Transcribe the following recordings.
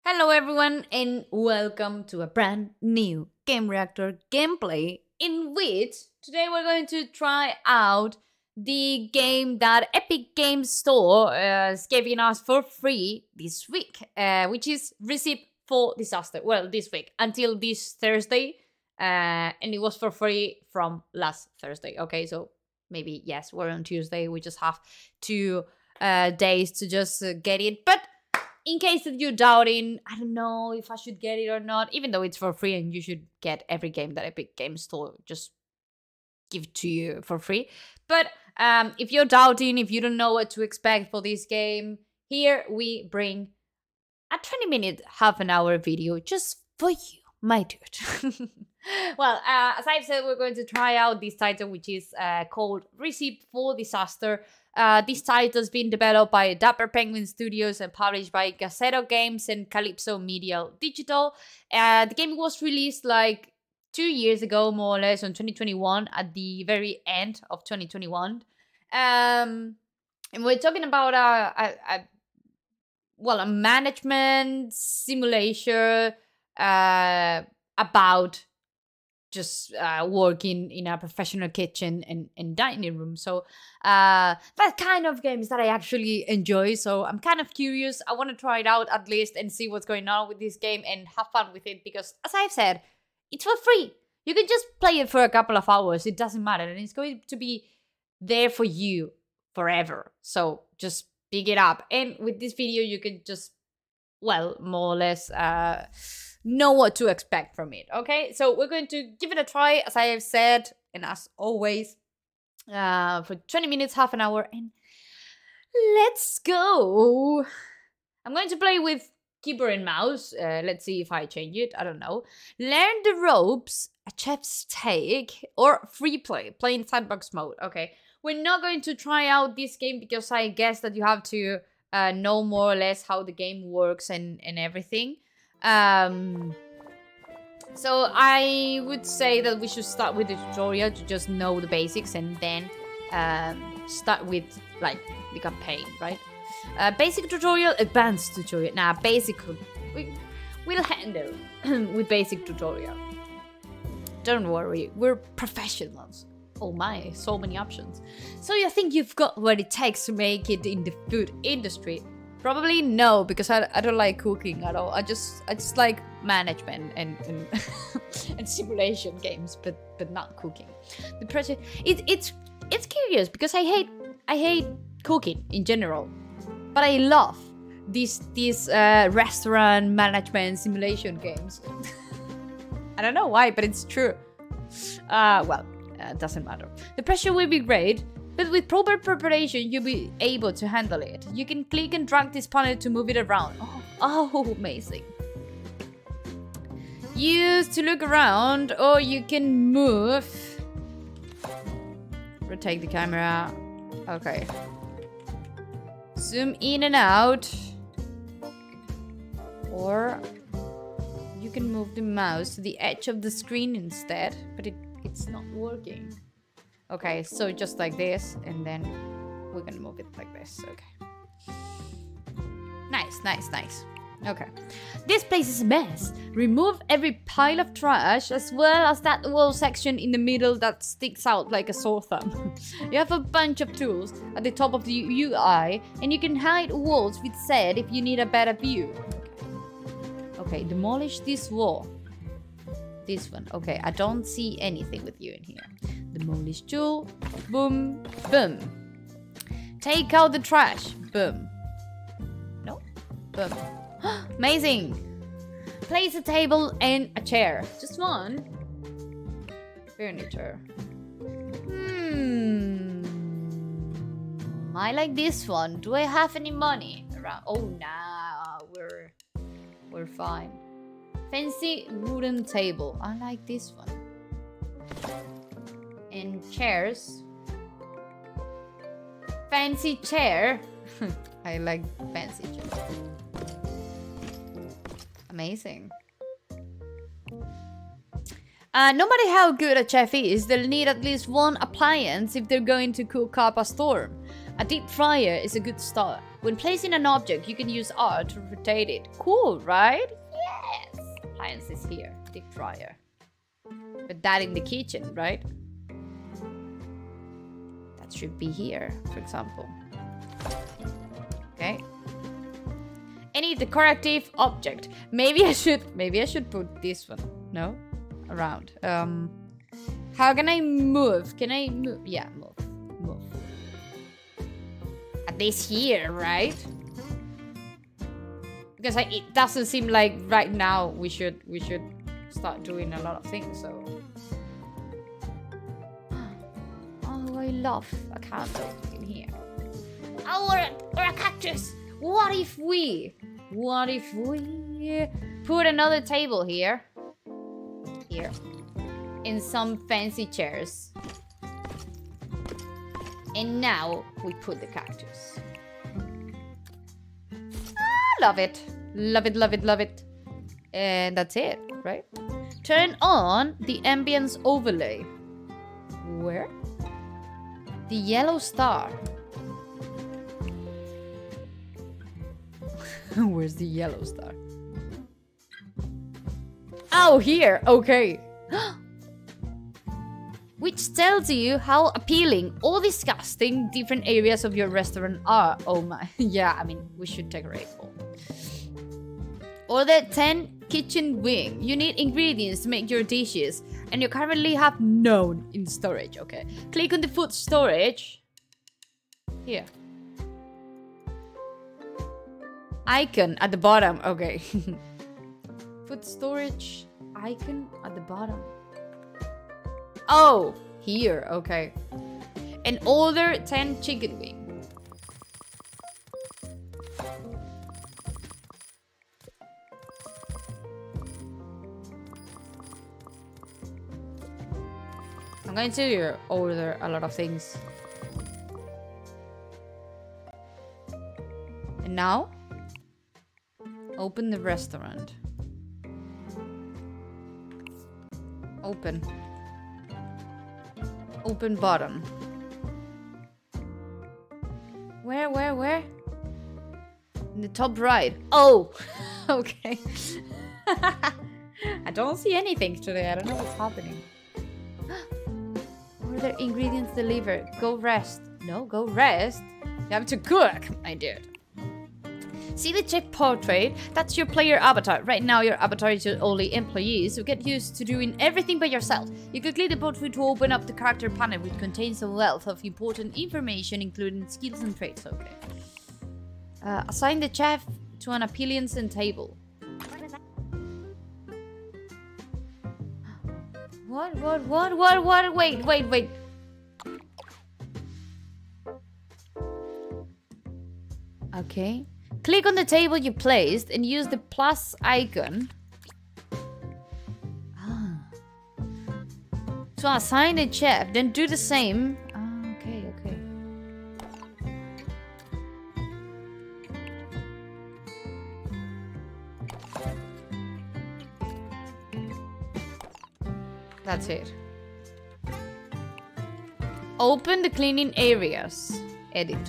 Hello everyone and welcome to a brand new Game Reactor gameplay in which today we're going to try out the game that Epic Games Store is giving us for free this week, which is Recipe for Disaster. Well, this week until this Thursday, and it was for free from last Thursday. Okay, so maybe yes, we're on Tuesday. We just have 2 days to just get it, but in case that you're doubting, I don't know if I should get it or not, even though it's for free and you should get every game that Epic Games Store just give to you for free. But if you're doubting, if you don't know what to expect for this game, here we bring a 20-minute, half an hour video just for you, my dude. Well, as I've said, we're going to try out this title, which is called Recipe for Disaster. This title has been developed by Dapper Penguin Studios and published by Gazzetto Games and Calypso Media Digital. The game was released like 2 years ago, more or less, in 2021, at the very end of 2021. And we're talking about a management simulation about just working in a professional kitchen and dining room. So that kind of games that I actually enjoy. So I'm kind of curious. I want to try it out at least and see what's going on with this game and have fun with it because, as I've said, it's for free. You can just play it for a couple of hours. It doesn't matter. And it's going to be there for you forever. So just pick it up. And with this video, you can just, well, more or less know what to expect from it. Okay, so we're going to give it a try, as I have said, and as always, for 20 minutes, half an hour, and let's go. I'm going to play with keyboard and mouse. Let's see if I change it. I don't know. Learn the ropes, a chef's take, or free play, playing sandbox mode. Okay, we're not going to try out this game because I guess that you have to know more or less how the game works and everything. So I would say that we should start with the tutorial to just know the basics and then start with like the campaign, right? Basic tutorial, advanced tutorial. Nah, basic we'll handle with basic tutorial. Don't worry, we're professionals. Oh my, so many options. So you think you've got what it takes to make it in the food industry? Probably no, because I don't like cooking at all. I just like management and and simulation games, but not cooking. The pressure it's curious because I hate cooking in general, but I love these restaurant management simulation games. I don't know why, but it's true. It doesn't matter. The pressure will be great. But with proper preparation, you'll be able to handle it. You can click and drag this panel to move it around. Oh, amazing. Use to look around, or you can move. Rotate the camera. Okay. Zoom in and out. Or you can move the mouse to the edge of the screen instead, but it's not working. Okay, so just like this, and then we're gonna move it like this. Okay. Nice. Okay. This place is a mess. Remove every pile of trash, as well as that wall section in the middle that sticks out like a sore thumb. You have a bunch of tools at the top of the UI, and you can hide walls with Z if you need a better view. Okay, demolish this wall. This one. Okay, I don't see anything with you in here. Demolish tool. Boom. Boom. Take out the trash. Boom. No? Boom. Amazing. Place a table and a chair. Just one. Furniture. I like this one. Do I have any money around? Oh, nah. We're fine. Fancy wooden table. I like this one. And chairs. Fancy chair. I like fancy chair. Amazing. No matter how good a chef is, they'll need at least one appliance if they're going to cook up a storm. A deep fryer is a good start. When placing an object, you can use R to rotate it. Cool, right? Yes! Appliance is here. Deep fryer. But that in the kitchen, right? That should be here, for example. Okay. Any decorative object. Maybe I should put this one. No? Around. How can I move? Can I move? Yeah, move. At least here, right? Because it doesn't seem like right now we should start doing a lot of things, so. Oh, I love a candle in here. Oh, or a cactus. What if we put another table here? Here. In some fancy chairs. And now we put the cactus. Love it. Love it, love it, love it. And that's it, right? Turn on the ambience overlay. Where? The yellow star. Where's the yellow star? Oh, here. Okay. Which tells you how appealing or disgusting different areas of your restaurant are. Oh my. Yeah, I mean, we should decorate all. Order 10 kitchen wing. You need ingredients to make your dishes, and you currently have none in storage. Okay. Click on the food storage. Here. Icon at the bottom. Okay. Food storage icon at the bottom. Oh, here. Okay. And order 10 chicken wing. I'm going to order a lot of things. And now, open the restaurant. Open. Open bottom. Where? In the top right. Oh! Okay. I don't see anything today. I don't know what's happening. Order ingredients delivered. Go rest. No, go rest. You have to cook. I did. See the chef portrait? That's your player avatar. Right now, your avatar is your only employee, so get used to doing everything by yourself. You can click the portrait to open up the character panel, which contains a wealth of important information, including skills and traits. Okay. Assign the chef to an appearance and table. What? Wait. Okay. Click on the table you placed and use the plus icon to assign a chef. Then do the same. Okay. That's it. Open the cleaning areas editor.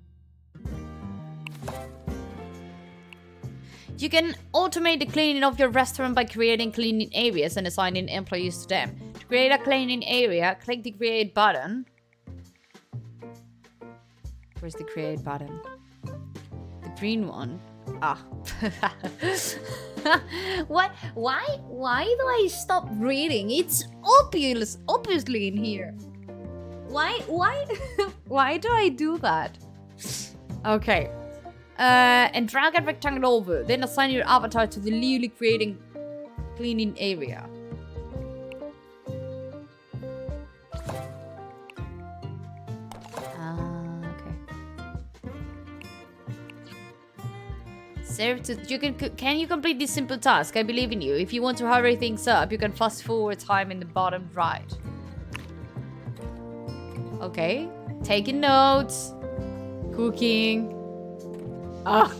You can automate the cleaning of your restaurant by creating cleaning areas and assigning employees to them. To create a cleaning area, click the create button. Where's the create button? The green one. Ah. What? Why do I stop reading? It's obviously in here. Why why do I do that? Okay. And drag a rectangle over. Then assign your avatar to the newly creating cleaning area. Okay. Serve to can you complete this simple task? I believe in you. If you want to hurry things up, you can fast forward time in the bottom right. Okay. Taking notes. Cooking. Ah!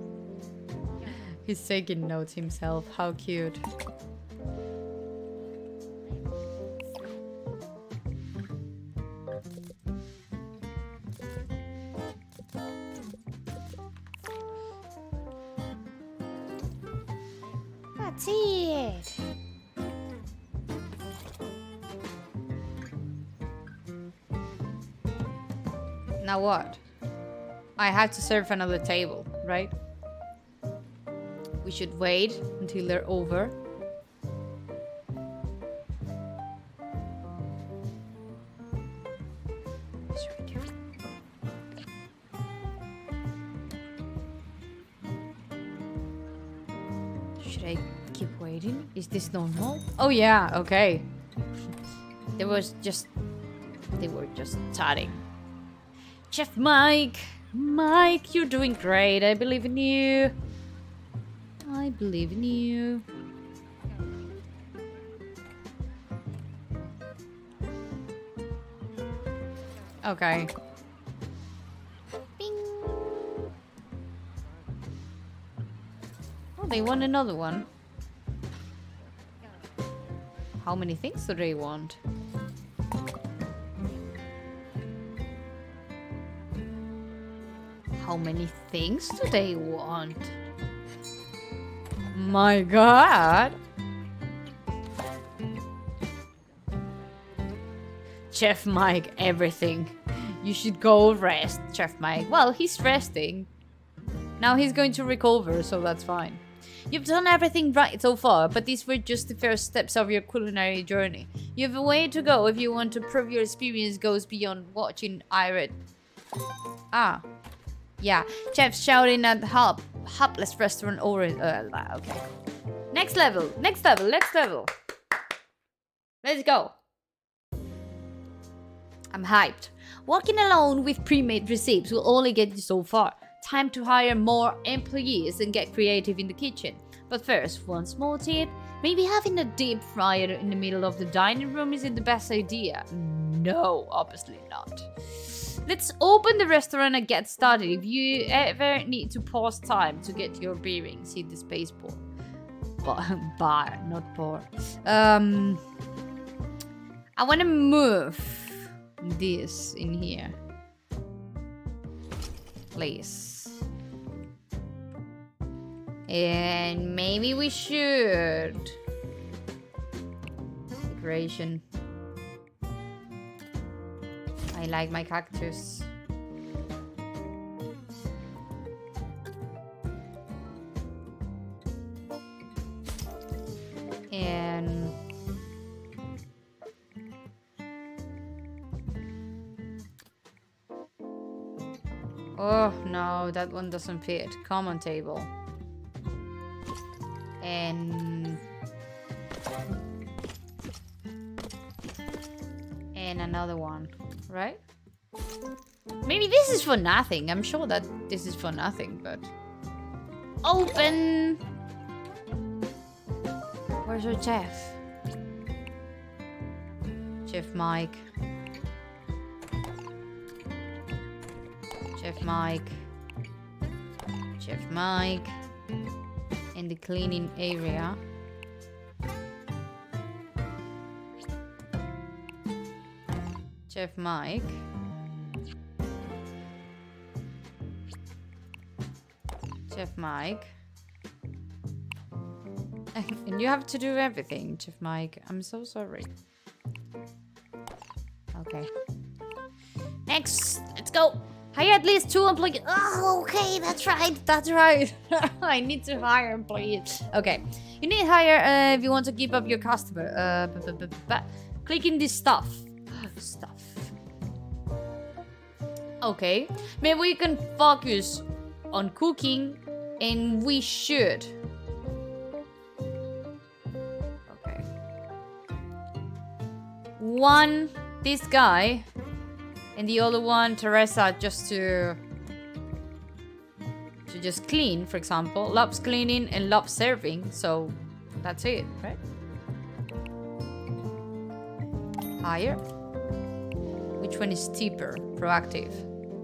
He's taking notes himself. How cute. That's it. Now what? I have to serve another table, right? We should wait until they're over. Should I keep waiting? Is this normal? Oh yeah, okay. They were just chatting. Chef Mike! Mike, you're doing great. I believe in you. I believe in you. Okay. Bing. Oh, they want another one. How many things do they want? How many things do they want? My god! Chef Mike, everything. You should go rest, Chef Mike. Well, he's resting. Now he's going to recover, so that's fine. You've done everything right so far, but these were just the first steps of your culinary journey. You have a way to go if you want to prove your experience goes beyond watching Irate. Ah. Yeah, chefs shouting at Hapless restaurant over. Okay. Next level, next level, next level. Let's go. I'm hyped. Walking alone with pre-made recipes will only get you so far. Time to hire more employees and get creative in the kitchen. But first, one small tip. Maybe having a deep fryer in the middle of the dining room isn't the best idea. No, obviously not. Let's open the restaurant and get started. If you ever need to pause time to get your bearings, hit the space bar, not bar. I want to move this in here. Please. And maybe we should. Decoration. I like my cactus. And oh no, that one doesn't fit. Common table. And another one, right? Maybe this is for nothing. I'm sure that this is for nothing, but open. Where's our chef? Chef Mike. Chef Mike. Chef Mike. In the cleaning area. Chef Mike. Chef Mike. And you have to do everything, Chef Mike. I'm so sorry. Okay. Next, let's go. Hire at least 2 employees. Oh, okay, that's right. That's right. I need to hire employees. Okay. You need to hire if you want to keep up your customer. Clicking this stuff. Stuff. Okay. Maybe we can focus on cooking, and we should. Okay. One, this guy, and the other one, Teresa, just to just clean, for example. Loves cleaning and loves serving, so that's it, right? Hire. Which one is cheaper? Proactive.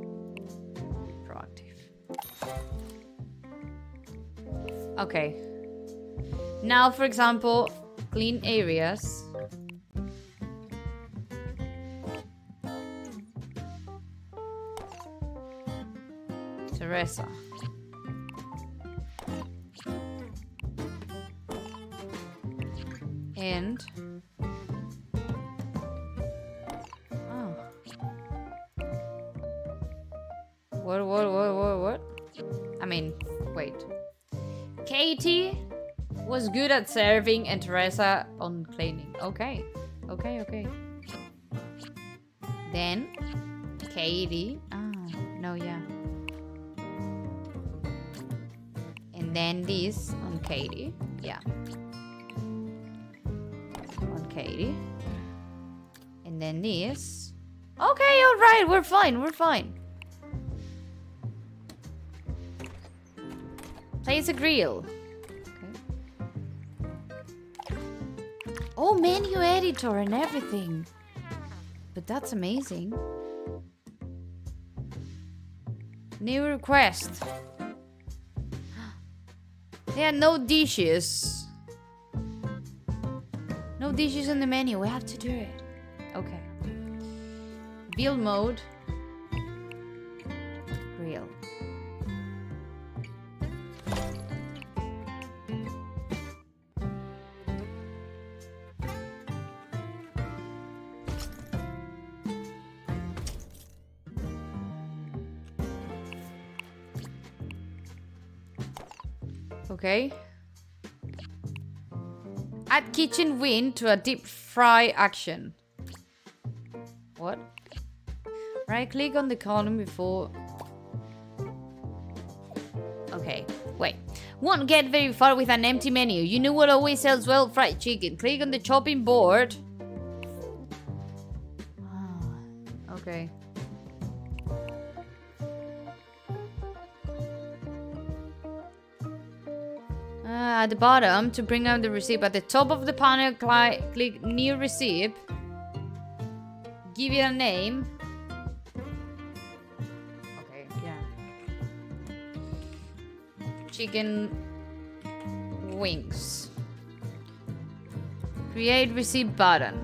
Okay. Now, for example, clean areas. Teresa. And oh, what? I mean, wait. Katie was good at serving and Teresa on cleaning. Okay. Then Katie. No, yeah. And then this on Katie. Yeah. On Katie. And then this. Okay, alright, we're fine. Place a grill. Okay. Oh, menu editor and everything. But that's amazing. New request. There are no dishes. No dishes on the menu. We have to do it. Okay. Build mode. Grill. Okay. Add kitchen wind to a deep fry action. What? Right click on the column before. Okay, wait. Won't get very far with an empty menu. You know what always sells well? Fried chicken. Click on the chopping board. Okay. At the bottom, to bring up the receipt, at the top of the panel, click new receipt. Give it a name. Okay, yeah. Chicken wings. Create receipt button.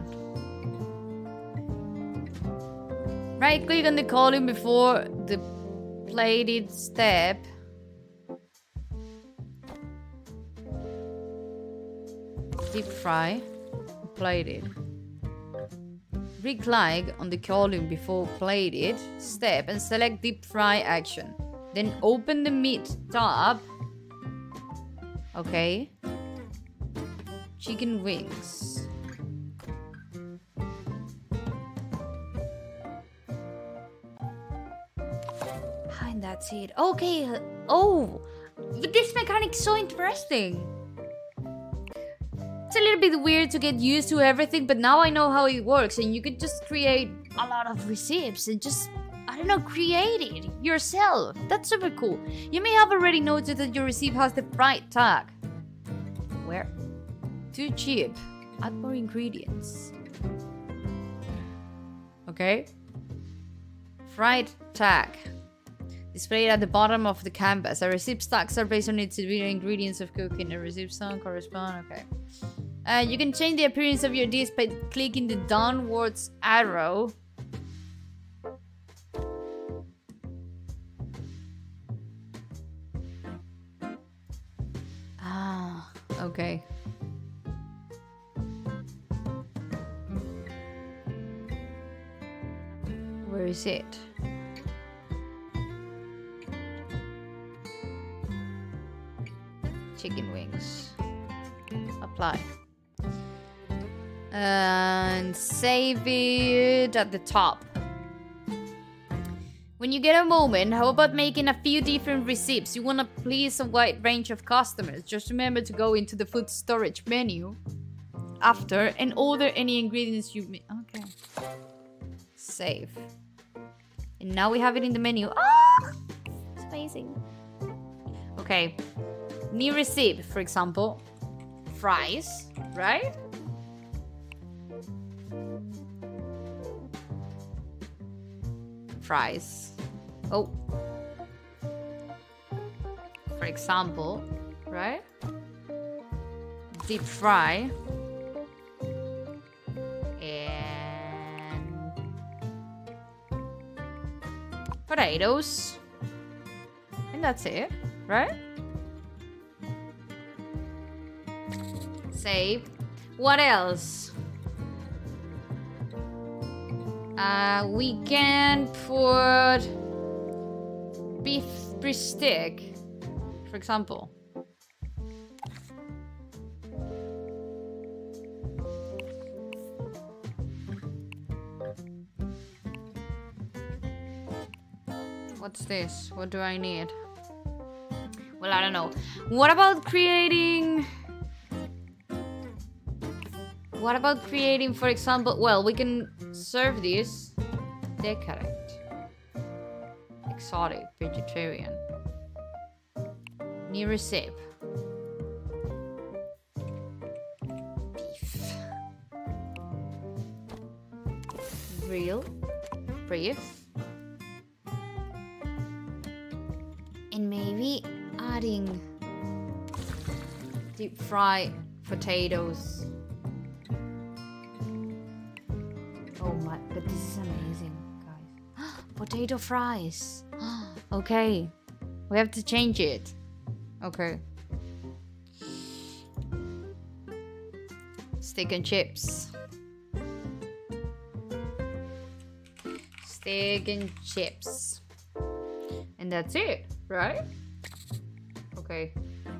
Right click on the column before the plated step. Deep fry, plated. Right-click on the column before plated step and select deep fry action. Then open the meat tab. Okay. Chicken wings. And that's it. Okay. Oh, but this mechanic is so interesting. It's a little bit weird to get used to everything, but now I know how it works, and you could just create a lot of receipts and just, I don't know, create it yourself. That's super cool. You may have already noticed that your receipt has the fried tag. Where? Too cheap. Add more ingredients. Okay. Fried tag. Displayed at the bottom of the canvas. A receipt stacks are based on its individual ingredients of cooking. A receipt song correspond. Okay. You can change the appearance of your dish by clicking the downwards arrow. Okay. Where is it? Chicken wings. Apply. And save it at the top. When you get a moment, how about making a few different receipts? You want to please a wide range of customers. Just remember to go into the food storage menu after and order any ingredients you make. Okay. Save. And now we have it in the menu. Ah! It's amazing. Okay. New receipt, for example. Fries, right? Fries. Oh. For example, right? Deep fry. And potatoes. And that's it, right? Save. What else? We can put beef bristic, for example. What's this? What do I need? Well, I don't know. What about creating... What about creating, for example... Well, we can serve this. Decadent. Exotic. Vegetarian. New recipe. Beef. Real. Brief. And maybe adding deep fried potatoes. Oh my, but this is amazing, guys. Potato fries. Okay, we have to change it. Okay. Steak and chips. Steak and chips. And that's it, right? Okay.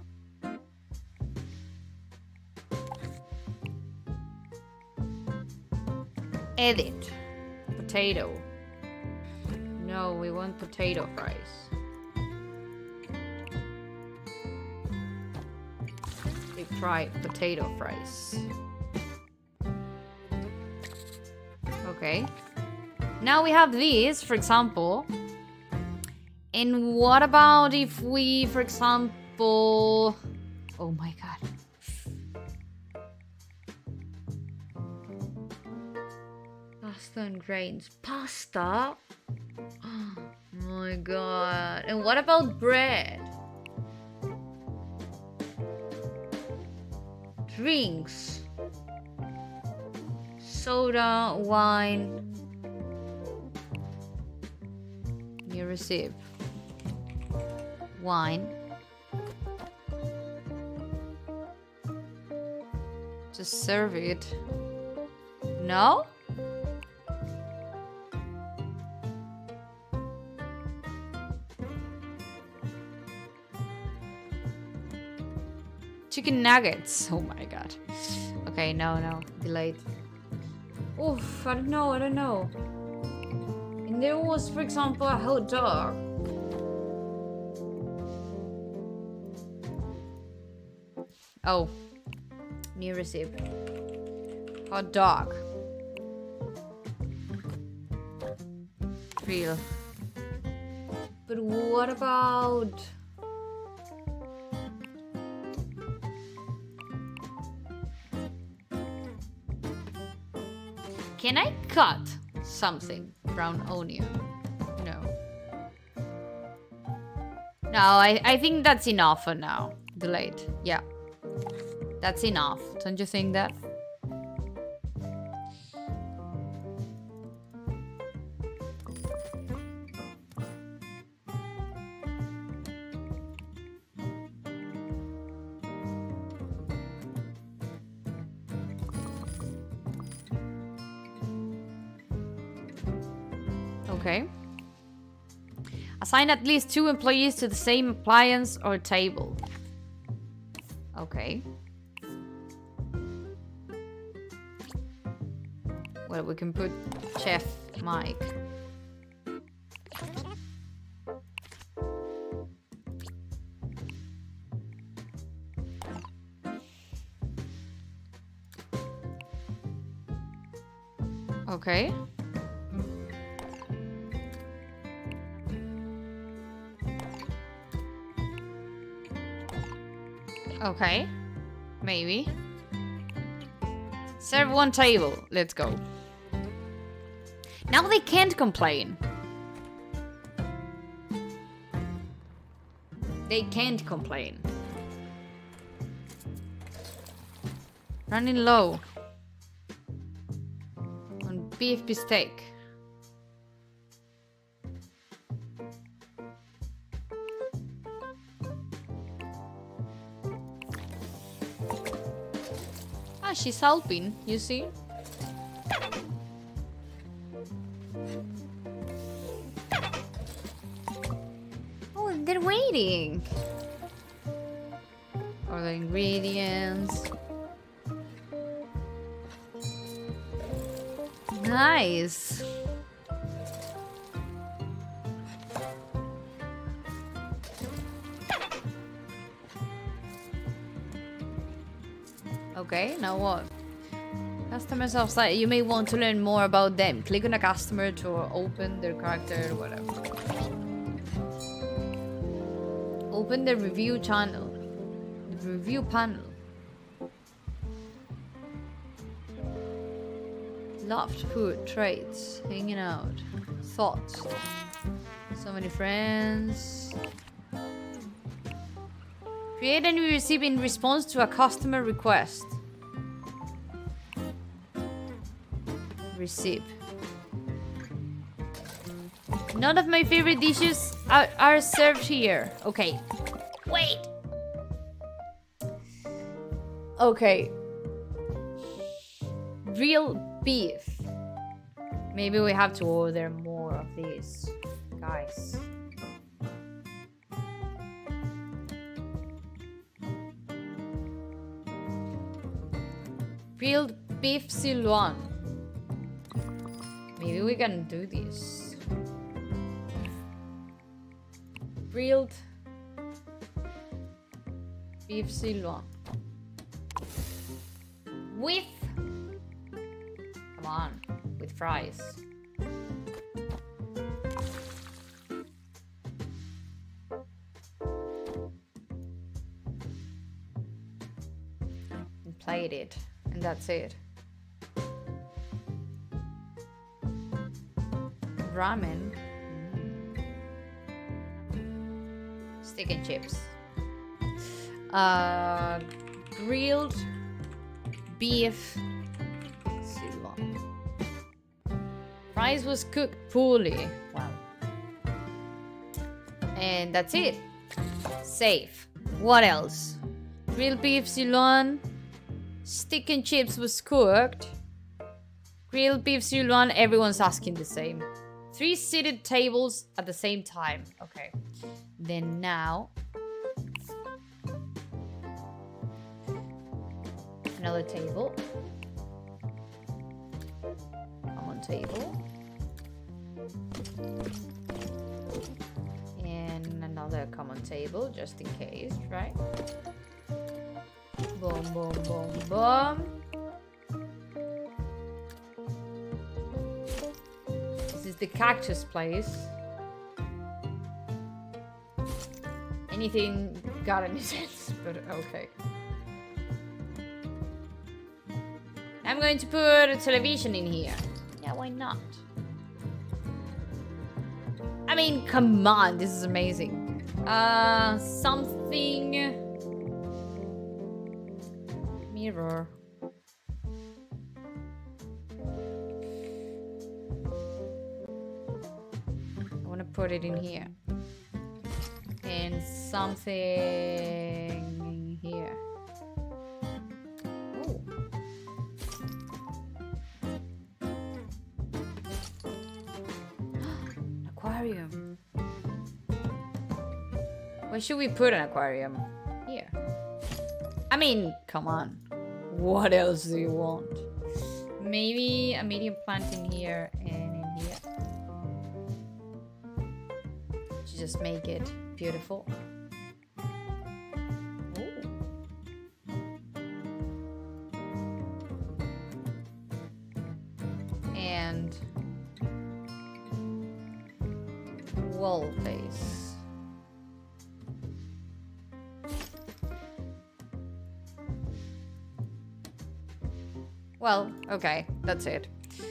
Edit. Potato. No, we want potato fries. Deep fried potato fries. Okay. Now we have these, for example. And what about if we, for example... Oh my god. Pasta and grains. Pasta? Oh my god. And what about bread? Drinks. Soda, wine. New recipe. Wine. Just serve it. No? Chicken nuggets. Oh my god. Okay, no. Delayed. Oof, I don't know. And there was, for example, a hot dog. Oh, new recipe. Hot dog. Real. But what about... Can I cut something? Brown onion. No. No, I think that's enough for now. Delayed. Yeah. That's enough. Don't you think that? Okay. Assign at least 2 employees to the same appliance or table. Okay. Well, we can put Chef Mike. Okay. Okay. Maybe. Serve 1 table. Let's go. Now they can't complain. They can't complain. Running low on beef bistec. Yeah, she's helping, you see? Oh, they're waiting. Or the ingredients. Nice. Okay, now what? Customers outside. You may want to learn more about them. Click on a customer to open their character, whatever. Open the review channel. The review panel. Loved food, traits, hanging out, thoughts. So many friends. Create a new recipe in response to a customer request. Recipe. None of my favorite dishes are served here. Okay. Wait. Okay. Real beef. Maybe we have to order more of these, guys. Grilled beef sirloin. Maybe we can do this. Grilled beef sirloin. With... Come on. With fries. And plate it. And that's it. Ramen. Stick and chips. Grilled beef sirloin. Rice was cooked poorly. Wow. And that's it. Safe. What else? Grilled beef sirloin. Stick and chips was cooked. Grilled beef sirloin. Everyone's asking the same. 3 seated tables at the same time. Okay. Then now... Another table. Common table. And another common table, just in case, right? Boom, boom, boom, boom. This is the cactus place. Anything got any sense, but okay. I'm going to put a television in here. Yeah, why not? I mean, come on, this is amazing. Something... Mirror. I want to put it in here. And something here. Oh. Aquarium. Where should we put an aquarium? Here. I mean, come on. What else do you want? Maybe a medium plant in here and in here. To just make it beautiful. Ooh. And wall base. Well, okay, that's it.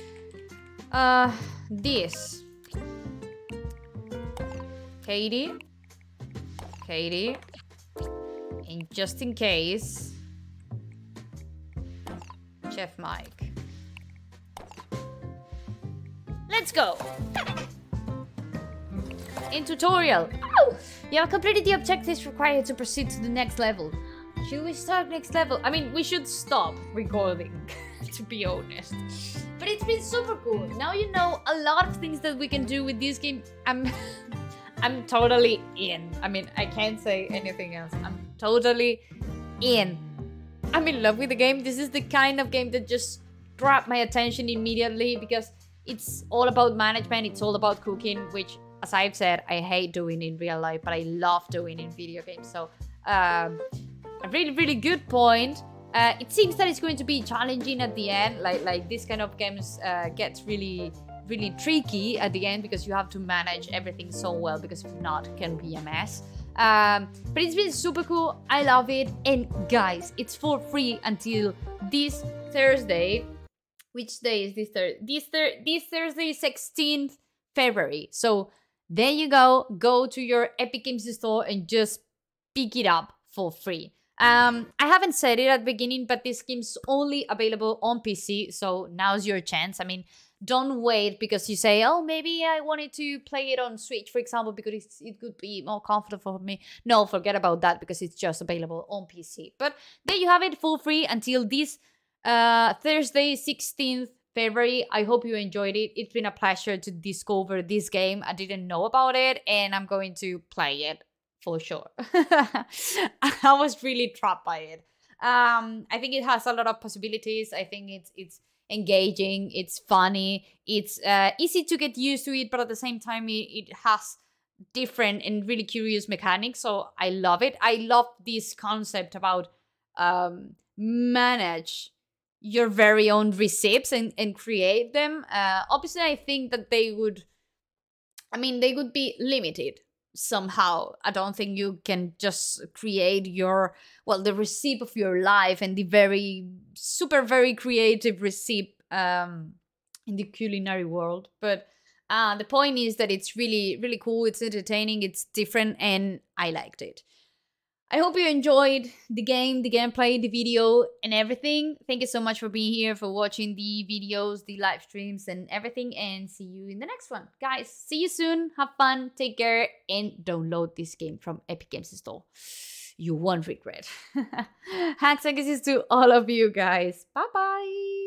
This. Katie. And just in case, Chef Mike. Let's go! In tutorial. Oh! You have completed the objectives required to proceed to the next level. Should we start next level? I mean, we should stop recording, to be honest. But it's been super cool. Now you know a lot of things that we can do with this game. I'm totally in. I mean, I can't say anything else. I'm totally in. I'm in love with the game. This is the kind of game that just grabbed my attention immediately because it's all about management. It's all about cooking, which, as I've said, I hate doing in real life, but I love doing in video games. So, a really, really good point. It seems that it's going to be challenging at the end. Like this kind of games gets really tricky at the end because you have to manage everything so well, because if not, it can be a mess. But it's been super cool. I love it. And guys, it's for free until this Thursday. Which day is this Thursday? This Thursday, 16th February. So there you go. Go to your Epic Games Store and just pick it up for free. I haven't said it at the beginning, but this game's only available on PC. So now's your chance. I mean, don't wait because you say, oh, maybe I wanted to play it on Switch, for example, because it could be more comfortable for me. No, forget about that because it's just available on PC. But there you have it for free until this Thursday, 16th February. I hope you enjoyed it. It's been a pleasure to discover this game. I didn't know about it, and I'm going to play it for sure. I was really trapped by it. I think it has a lot of possibilities. I think it's engaging, it's funny, it's easy to get used to it, but at the same time it has different and really curious mechanics. So I love it. I love this concept about manage your very own recipes and create them. Obviously I think that they would be limited somehow. I don't think you can just create the recipe of your life and the very creative recipe in the culinary world. But the point is that it's really, really cool. It's entertaining, it's different, and I liked it. I hope you enjoyed the game, the gameplay, the video, and everything. Thank you so much for being here, for watching the videos, the live streams, and everything. And see you in the next one. Guys, see you soon. Have fun. Take care. And download this game from Epic Games Store. You won't regret. Hugs and kisses to all of you guys. Bye-bye.